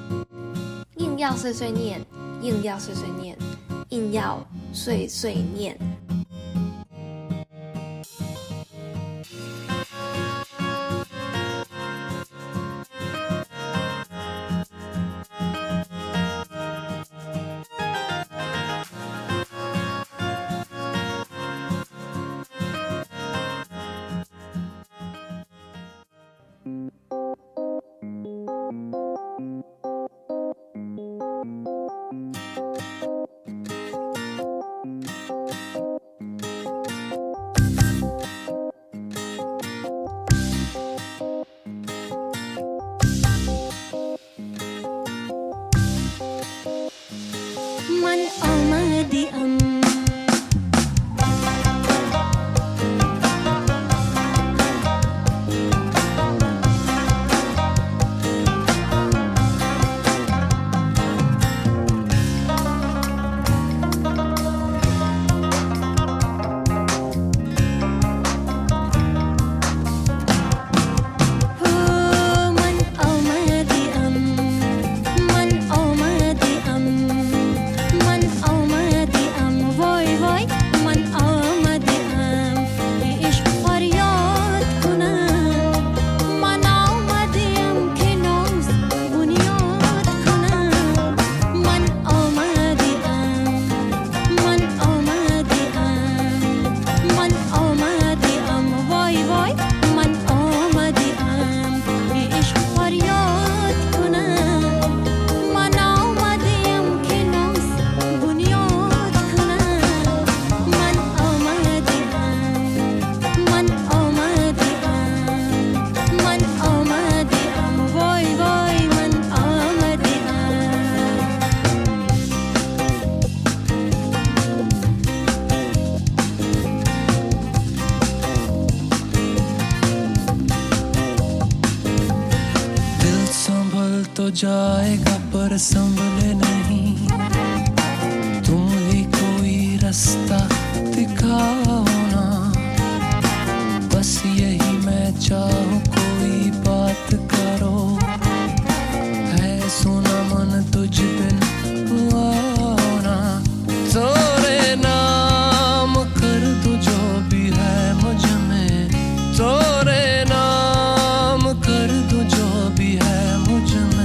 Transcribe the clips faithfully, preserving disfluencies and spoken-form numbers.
硬要碎碎念，硬要碎碎念，硬要碎碎念。 जाएगा पर संभले नहीं, तुम ही कोई रास्ता दिखाओ ना, बस यही मैं चाहूँ कोई बात करो, है सुना मन तुझ बिन हुआ ना, तेरे नाम कर दो जो भी है मुझ में, तेरे नाम कर दो जो भी है मुझ में,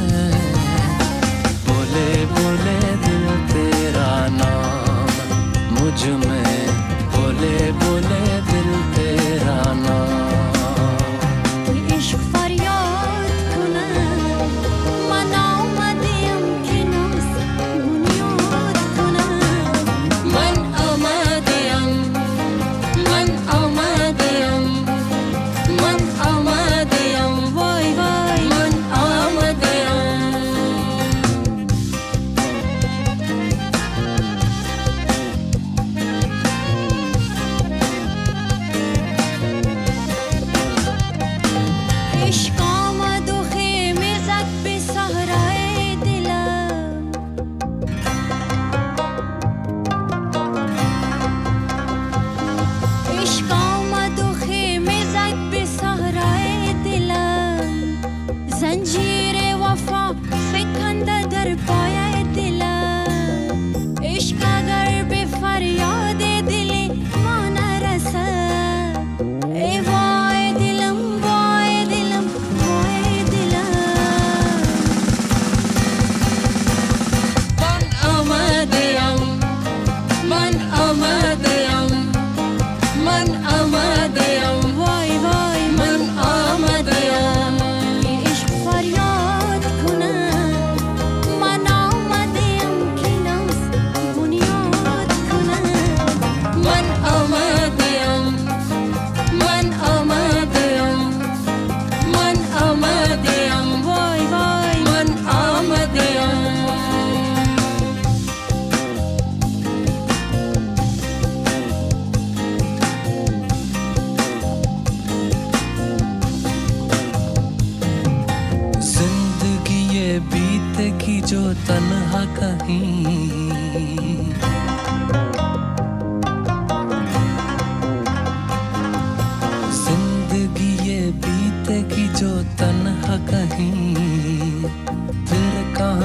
बोले दिल तेरा नाम मुझ में, बोले बोले दिल तेरा नाम। इश्क फरियाद कुना मनाओ मदियम के नास बुनियाद कुना मन अमदियम मन अमदियम मन अमदियम वाई वाई मन अमदियम। इश्क आमद व ख़ेमे ज़द पे सहराए दिलम, इश्क आमद व ख़ेमे ज़द पे सहराए दिलम, ज़ंजीरे वफ़ा फ़िकंदा दर पाए दिलम, इश्क अगर बेफ़रियादे दिले माना रसा, ए वाए दिलम वाए दिलम वाए दिलम। मन अमदियम मन अमदियम मन अमदियम वाई वाई मन अमदियम। ये इश्क फरियाद कुना मनाओ मदियम की नास बुनियाद कुना मन अमदियम मन अमदियम मन अमदियम वाई वाई मन अमदियम। जिंदगी ये बीतेगी जो तन्हा कहीं, जिंदगी ये बीतेगी जो तन्हा कहीं, फिर कहाँ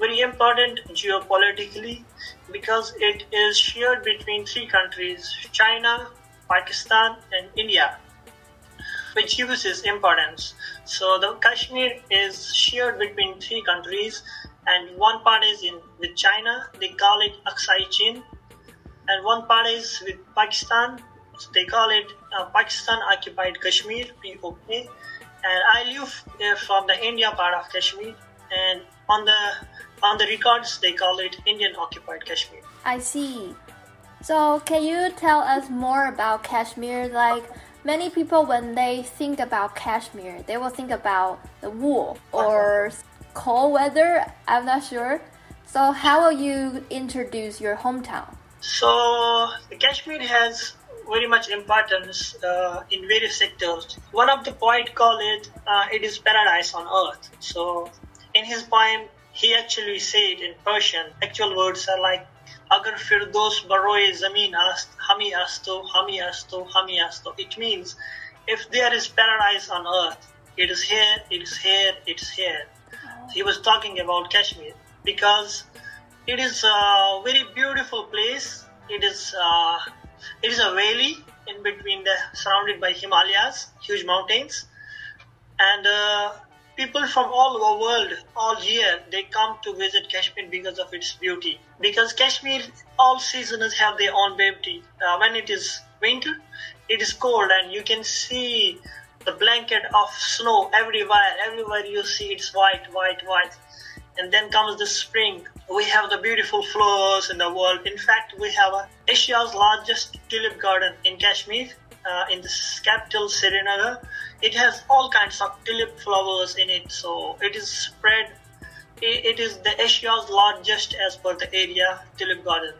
very important geopolitically because it is shared between three countries, China, Pakistan and India, which gives its importance. So the Kashmir is shared between three countries, and one part is in with China, they call it Aksai Chin, and one part is with Pakistan, they call it uh, Pakistan Occupied Kashmir, P O K, and I live uh, from the India part of Kashmir, and on the on the records they call it Indian Occupied Kashmir. I see. So can you tell us more about Kashmir? Like many people, when they think about Kashmir, they will think about the wool or cold weather. I'm not sure. So how will you introduce your hometown? So the Kashmir has very much importance uh, in various sectors. One of the poet called it, uh, it is paradise on earth. So in his poem, he actually said in Persian, actual words are like, Agar firdos baroye zameen ast, hami asto, hami asto, hami asto. It means, if there is paradise on earth, it is here, it is here, it is here. He was talking about Kashmir because it is a very beautiful place. It is uh, it is a valley in between the surrounded by Himalayas, huge mountains, and uh, people from all over the world, all year, they come to visit Kashmir because of its beauty. Because Kashmir, all seasons have their own beauty. Uh, when it is winter, it is cold, and you can see the blanket of snow everywhere. Everywhere you see it's white, white, white. And then comes the spring. We have the beautiful flowers in the world. In fact, we have uh, Asia's largest tulip garden in Kashmir, uh, in the capital Srinagar. It has all kinds of tulip flowers in it. So it is spread. It, it is the Asia's largest as per the area tulip garden.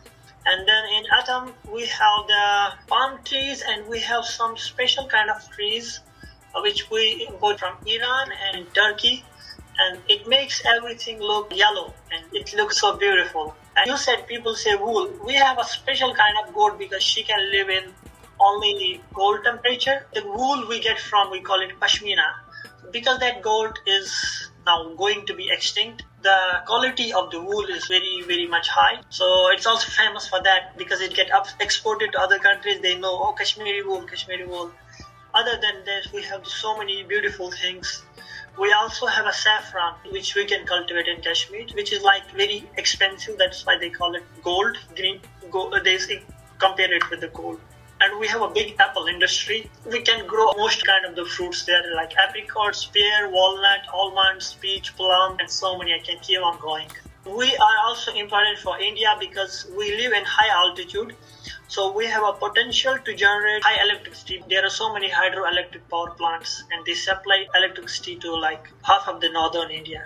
And then in Atam, we have the palm trees, and we have some special kind of trees uh, which we import from Iran and Turkey. And it makes everything look yellow, and it looks so beautiful. And you said people say wool. We have a special kind of goat because she can live in only cold temperature. The wool we get from, we call it pashmina. Because that goat is now going to be extinct, the quality of the wool is very, very much high. So it's also famous for that because it gets exported to other countries. They know, oh, Kashmiri wool, Kashmiri wool. Other than that, we have so many beautiful things. We also have a saffron, which we can cultivate in Kashmir, which is like very expensive. That's why they call it gold, green, gold. They compare it with the gold. And we have a big apple industry. We can grow most kind of the fruits there, like apricots, pear, walnut, almonds, peach, plum, and so many. I can keep on going. We are also important for India because we live in high altitude. So we have a potential to generate high electricity. There are so many hydroelectric power plants, and they supply electricity to like half of the northern India.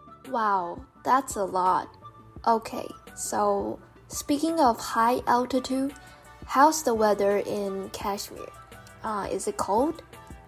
Wow, that's a lot. Okay, so speaking of high altitude, how's the weather in Kashmir? Uh, is it cold?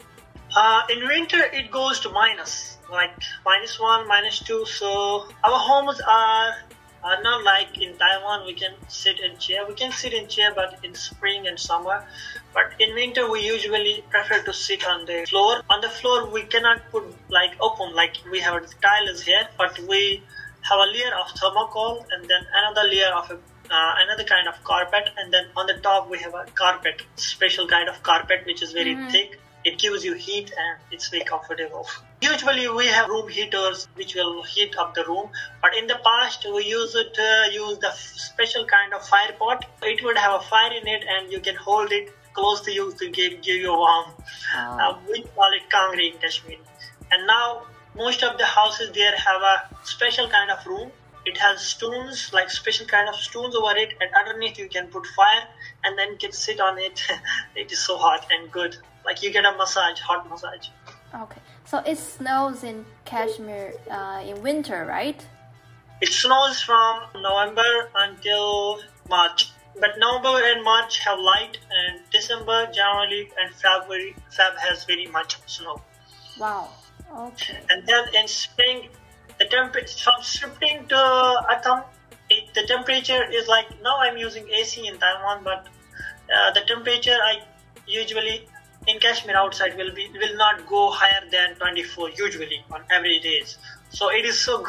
Uh, in winter, it goes to minus, like minus one, minus two. So our homes are are not like in Taiwan. We can sit in chair. We can sit in chair, but in spring and summer. But in winter, we usually prefer to sit on the floor. On the floor, we cannot put like open, like we have tiles here, but we have a layer of thermocol and then another layer of a, uh, another kind of carpet, and then on the top we have a carpet, special kind of carpet which is very mm-hmm. thick. It gives you heat and it's very comfortable. Usually we have room heaters which will heat up the room, but in the past we used to uh, use the special kind of fire pot. It would have a fire in it and you can hold it close to you to give, give you warm. Oh. Uh, we call it kangri in Kashmir. And now most of the houses there have a special kind of room. It has stones, like special kind of stones over it, and underneath you can put fire and then you can sit on it. It is so hot and good. Like you get a massage, hot massage. Okay, so it snows in Kashmir uh, in winter, right? It snows from November until March. But November and March have light, and December, January, and February, Feb has very much snow. Wow. Okay. And then in spring, the temperature from spring to autumn, it, the temperature is like, now I'm using A C in Taiwan, but uh, the temperature I usually in Kashmir outside will be will not go higher than twenty-four usually on every days. So it is so good.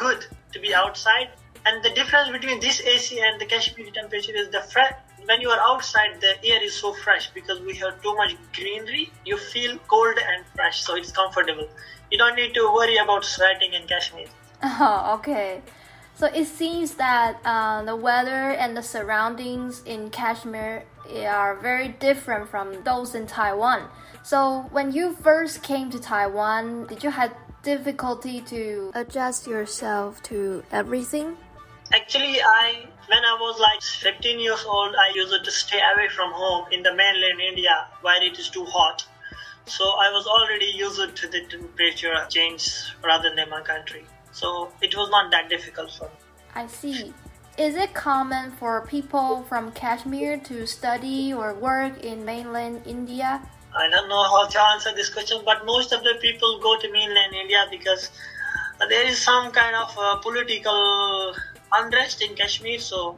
to be outside. And the difference between this A C and the Kashmiri temperature is the fre- when you are outside, the air is so fresh because we have too much greenery. You feel cold and fresh, so it's comfortable. You don't need to worry about sweating in Kashmir. Oh, okay. So it seems that uh, the weather and the surroundings in Kashmir are very different from those in Taiwan. So when you first came to Taiwan, did you have difficulty to adjust yourself to everything? Actually, I when I was like fifteen years old, I used to stay away from home in the mainland India where it is too hot. So I was already used to the temperature change rather than my country. So it was not that difficult for me. I see. Is it common for people from Kashmir to study or work in mainland India? I don't know how to answer this question, but most of the people go to mainland India because there is some kind of uh, political unrest in Kashmir, so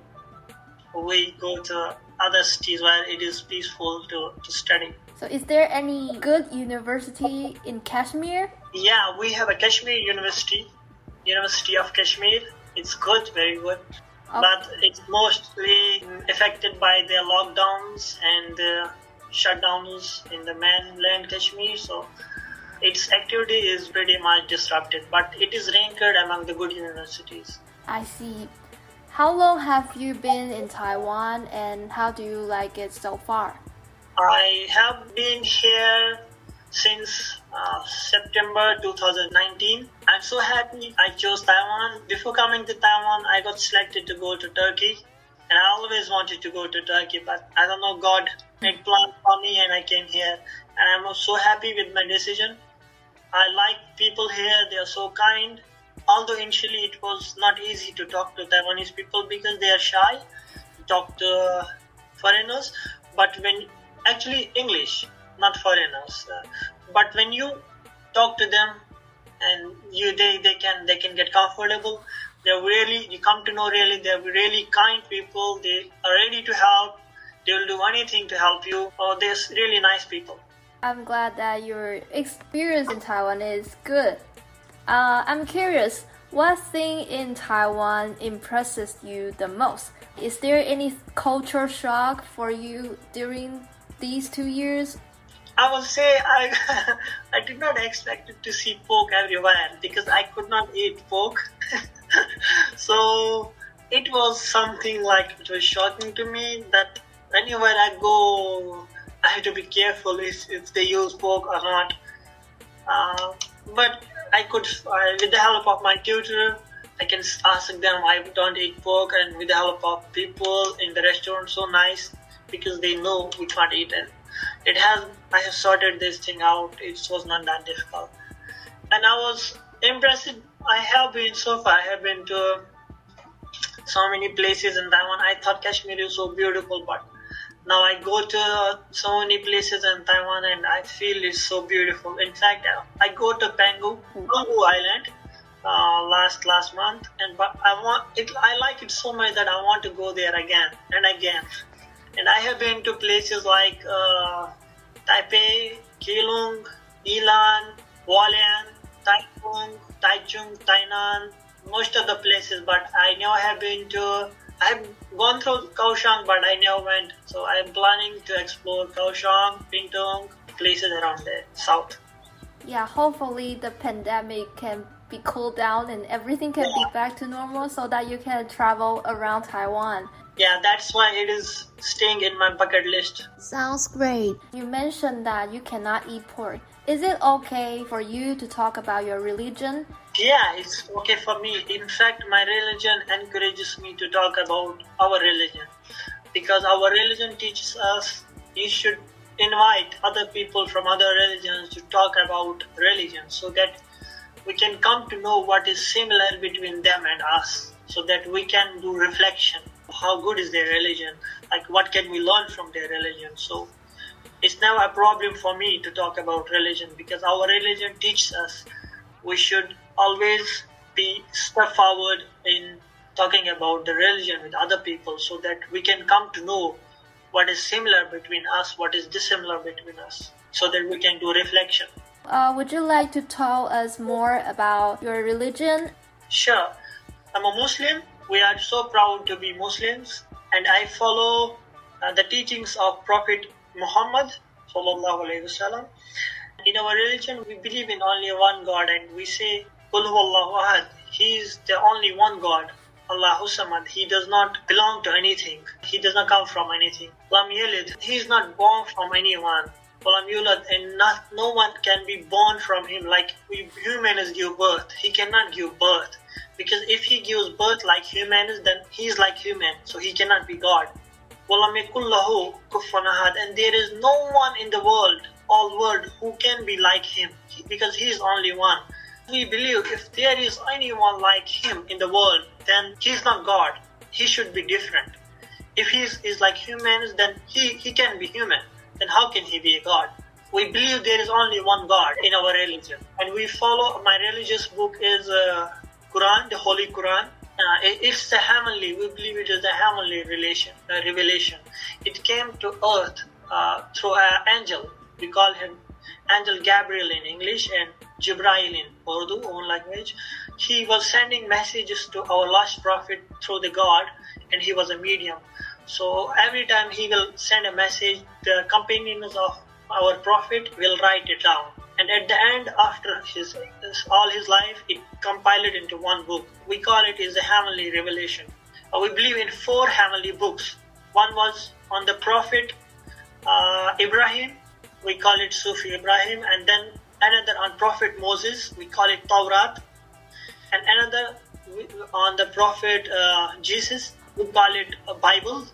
we go to other cities where it is peaceful to, to study. So is there any good university in Kashmir? Yeah, we have a Kashmir University, University of Kashmir. It's good, very good. Okay. But it's mostly affected by the lockdowns and the shutdowns in the mainland Kashmir, so its activity is pretty much disrupted. But it is ranked among the good universities. I see. How long have you been in Taiwan and how do you like it so far? I have been here since uh, September two thousand nineteen. I'm so happy I chose Taiwan. Before coming to Taiwan, I got selected to go to Turkey. And I always wanted to go to Turkey, but I don't know, God made plan for me and I came here. And I'm so happy with my decision. I like people here, they are so kind. Although initially it was not easy to talk to Taiwanese people because they are shy to talk to foreigners. But when, actually English, not foreigners. Uh, but when you talk to them and you they, they can they can get comfortable, they're really, you come to know really, they're really kind people. They are ready to help. They will do anything to help you. Oh, they're really nice people. I'm glad that your experience in Taiwan is good. Uh, I'm curious, what thing in Taiwan impresses you the most? Is there any culture shock for you during these two years? I will say I I did not expect to see pork everywhere because I could not eat pork. So it was something like, it was shocking to me that anywhere I go, I have to be careful if, if they use pork or not. Uh, but I could, uh, with the help of my tutor, I can ask them I don't eat pork, and with the help of people in the restaurant, so nice because they know we can't eat it. It has, I have sorted this thing out. It was not that difficult. And I was impressed. I have been so far, I have been to so many places in Taiwan. I thought Kashmir is so beautiful, but now I go to so many places in Taiwan and I feel it's so beautiful. In fact, I go to Pangu, Pangu Island uh, last last month, and but I want it. I like it so much that I want to go there again and again. And I have been to places like uh, Taipei, Keelung, Yilan, Hualien, Taichung, Taichung, Tainan, most of the places, but I never have been to, I've gone through Kaohsiung, but I never went. So I'm planning to explore Kaohsiung, Pingtung, places around the south. Yeah, hopefully the pandemic can be cooled down and everything can be back to normal so that you can travel around Taiwan. Yeah, that's why it is staying in my bucket list. Sounds great. You mentioned that you cannot eat pork. Is it okay for you to talk about your religion? Yeah, it's okay for me. In fact, my religion encourages me to talk about our religion. Because our religion teaches us you should invite other people from other religions to talk about religion so that we can come to know what is similar between them and us, so that we can do reflection. How good is their religion? Like, what can we learn from their religion? So it's never a problem for me to talk about religion because our religion teaches us we should always be step forward in talking about the religion with other people so that we can come to know what is similar between us, what is dissimilar between us, so that we can do reflection. Uh, would you like to tell us more about your religion? Sure. I'm a Muslim. We are so proud to be Muslims, and I follow uh, the teachings of Prophet Muhammad sallallahu alaihi wasallam. In our religion, we believe in only one God, and we say Qul huwallahu ahad. He is the only one God. Allahu Samad. He does not belong to anything. He does not come from anything. Lam Yalid. He is not born from anyone. Walam Yulad. And not, no one can be born from him like we humans give birth. He cannot give birth. Because if he gives birth like humans, then he is like human. So he cannot be God. Walam yakul lahu kufuwan ahad. And there is no one in the world, all world, who can be like him. Because he is only one. We believe if there is anyone like him in the world, then he is not God. He should be different. If he is, is like humans, then he, he can be human. Then how can he be a God? We believe there is only one God in our religion. And we follow, my religious book is uh, Quran, the Holy Quran. Uh, it, it's the heavenly, we believe it is the heavenly relation, uh, revelation. It came to earth uh, through an angel. We call him Angel Gabriel in English and Jibrail in Urdu, own language. He was sending messages to our last prophet through the God, and he was a medium. So every time he will send a message, the companions of our prophet will write it down. And at the end, after his all his life, it compiled into one book. We call it is the heavenly revelation. Uh, we believe in four heavenly books. One was on the prophet uh, Ibrahim. We call it Sufi Ibrahim, and then another on Prophet Moses, we call it Tawrat, and another on the Prophet uh, Jesus, we call it a Bible,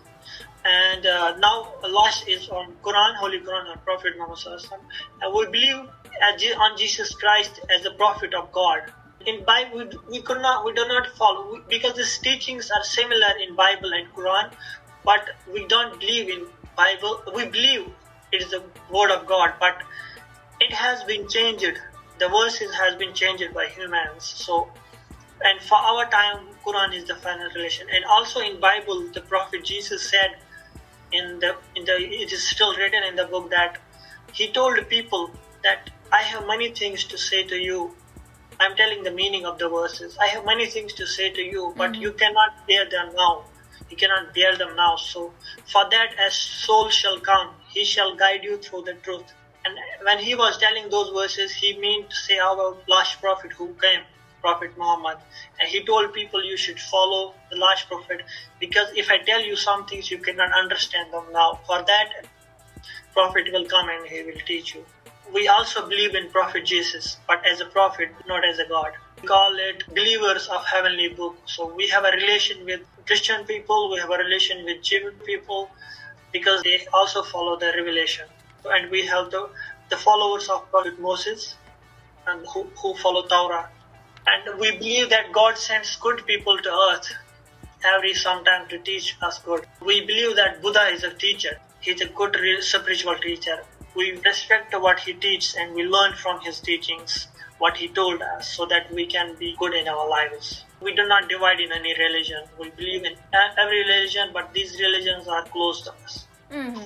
and uh, now last is on Quran, Holy Quran, on Prophet Muhammad sallallahu alaihi wasallam. And we believe on Jesus Christ as the Prophet of God. In Bible, we, we could not, we do not follow we, because these teachings are similar in Bible and Quran, but we don't believe in Bible. We believe it is the word of God, but it has been changed. The verses has been changed by humans. So, and for our time, Quran is the final relation. And also in Bible, the Prophet Jesus said, in the in the it is still written in the book that he told people that I have many things to say to you. I'm telling the meaning of the verses. I have many things to say to you, but mm-hmm. you cannot bear them now. You cannot bear them now. So for that, as soul shall come, he shall guide you through the truth. And when he was telling those verses, he meant to say our last prophet who came, Prophet Muhammad. And he told people you should follow the last prophet, because if I tell you some things, you cannot understand them now. For that, prophet will come and he will teach you. We also believe in Prophet Jesus, but as a prophet, not as a God. We call it believers of heavenly book. So we have a relation with Christian people, we have a relation with Jewish people, because they also follow the revelation. And we have the, the followers of Prophet Moses, and who, who follow Torah. And we believe that God sends good people to earth every sometime to teach us good. We believe that Buddha is a teacher. He's a good spiritual teacher. We respect what he teaches and we learn from his teachings what he told us so that we can be good in our lives. We do not divide in any religion. We believe in every religion, but these religions are close to us. Mm-hmm.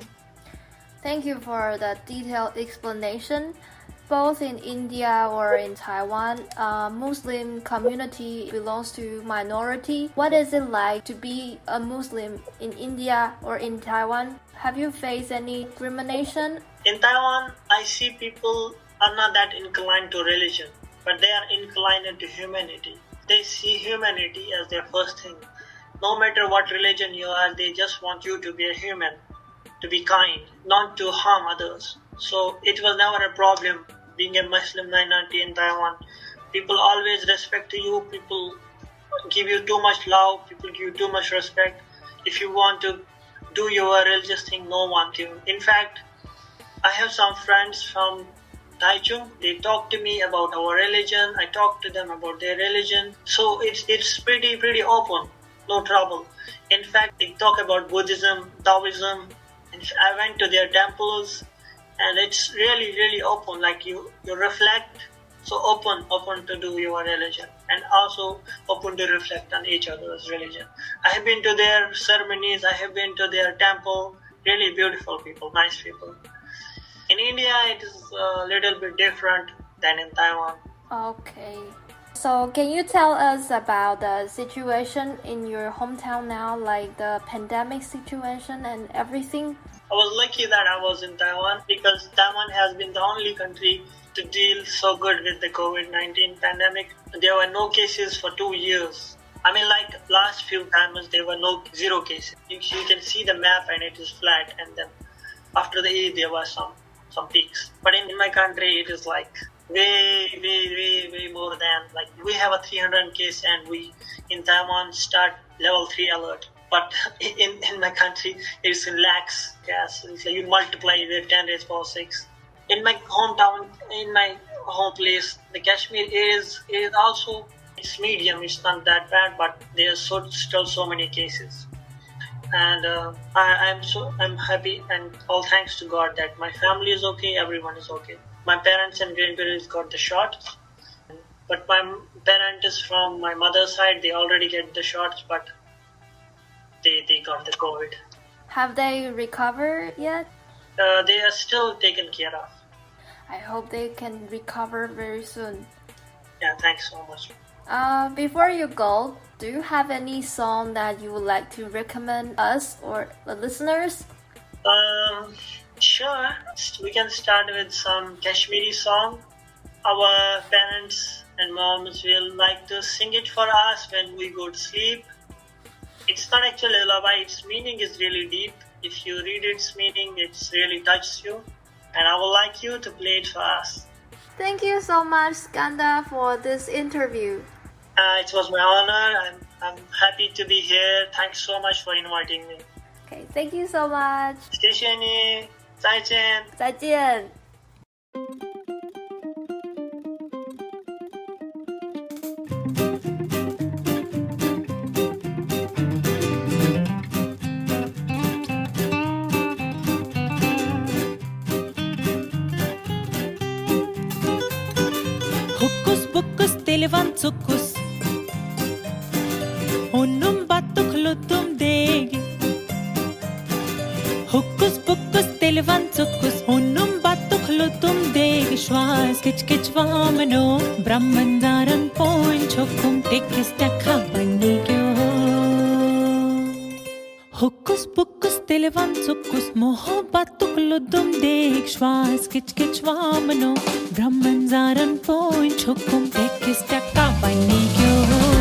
Thank you for the detailed explanation. Both in India or in Taiwan, uh, Muslim community belongs to minority. What is it like to be a Muslim in India or in Taiwan? Have you faced any discrimination? In Taiwan, I see people are not that inclined to religion, but they are inclined to humanity. They see humanity as their first thing. No matter what religion you are, they just want you to be a human, to be kind, not to harm others. So it was never a problem being a Muslim minority in Taiwan. People always respect you, people give you too much love, people give you too much respect. If you want to do your religious thing, no one can. In fact, I have some friends from Taichung. They talk to me about our religion. I talk to them about their religion. So it's it's pretty pretty open, no trouble. In fact, they talk about Buddhism, Taoism. I went to their temples, and it's really really open. Like you, you reflect. So open, open to do your religion, and also open to reflect on each other's religion. I have been to their ceremonies. I have been to their temple. Really beautiful people, nice people. In India, it is a little bit different than in Taiwan. Okay. So, can you tell us about the situation in your hometown now, like the pandemic situation and everything? I was lucky that I was in Taiwan because Taiwan has been the only country to deal so good with the COVID nineteen pandemic. There were no cases for two years. I mean, like last few times, there were no zero cases. You, you can see the map and it is flat, and then after the Eid, there were some, some peaks. But in, in my country, it is like way, way, way, way more than, like we have a three hundred case and we in Taiwan start level three alert. But in, in my country, it's in lakhs. Yes, it's like you multiply with ten raised power six. In my hometown, in my home place, the Kashmir is is also it's medium. It's not that bad, but there's so, still so many cases. And uh, I, I'm so I'm happy and all thanks to God that my family is okay. Everyone is okay. My parents and grandparents got the shot, but my parent is from my mother's side. They already get the shots, but they they got the COVID. Have they recovered yet? Uh, they are still taken care of. I hope they can recover very soon. Yeah, thanks so much. Uh, before you go, do you have any song that you would like to recommend us or the listeners? Um, sure. We can start with some Kashmiri song. Our parents and moms will like to sing it for us when we go to sleep. It's not actually a lullaby. Its meaning is really deep. If you read its meaning, it's really touches you. And I would like you to play it for us. Thank you so much, Skanda, for this interview. Uh, it was my honor. I'm, I'm happy to be here. Thanks so much for inviting me. Okay, thank you so much. 谢谢你，再见。 再见。 Hokus pokus televan tsukus Onum batuk lutum degi Hokus pokus televan tsukus Onum batuk lutum degi Shwas kich kich vamano Brahmandaran point chokum tekis takha bani kyo Hokus pokus televan tsukus Moho batuk lutum degi Shwas kich kich vamano Brahmandaran point chokum tekis takha bani kyo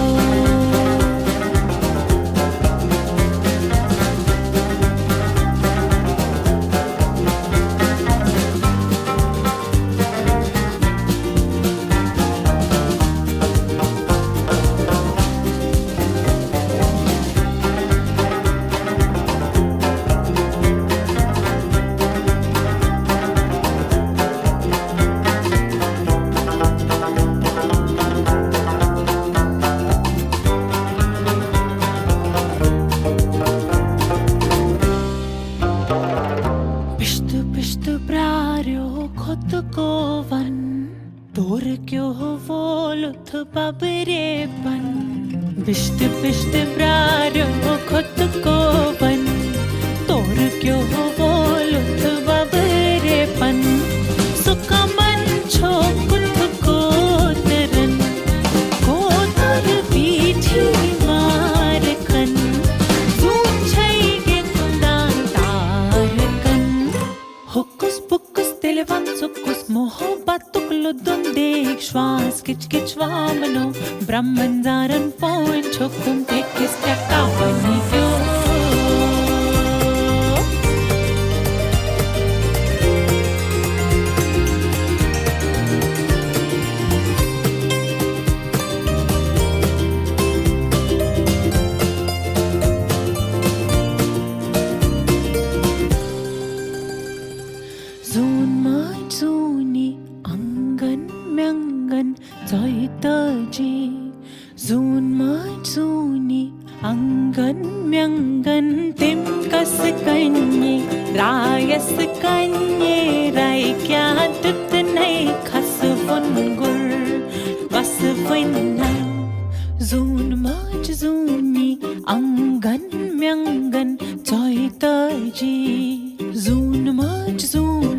Bisht bisht praryo khut ko ban tor kyo bolut babre pan sukaman chokut ko taran ko tar pithi mar kan puchai ge kudan tar kan hokus pokus televan sukus mohabbat ludum dekh shwas kich kich vamano brahmandaran point chokum tekis takka bani kyo zun mai zuni angan myangan toitaji zun mai zuni angan myangan tim kas kanye rayas kanye rai kya tut nai khas vun gur bas vinna zun mai zuni angan myangan toitaji zun mai zuni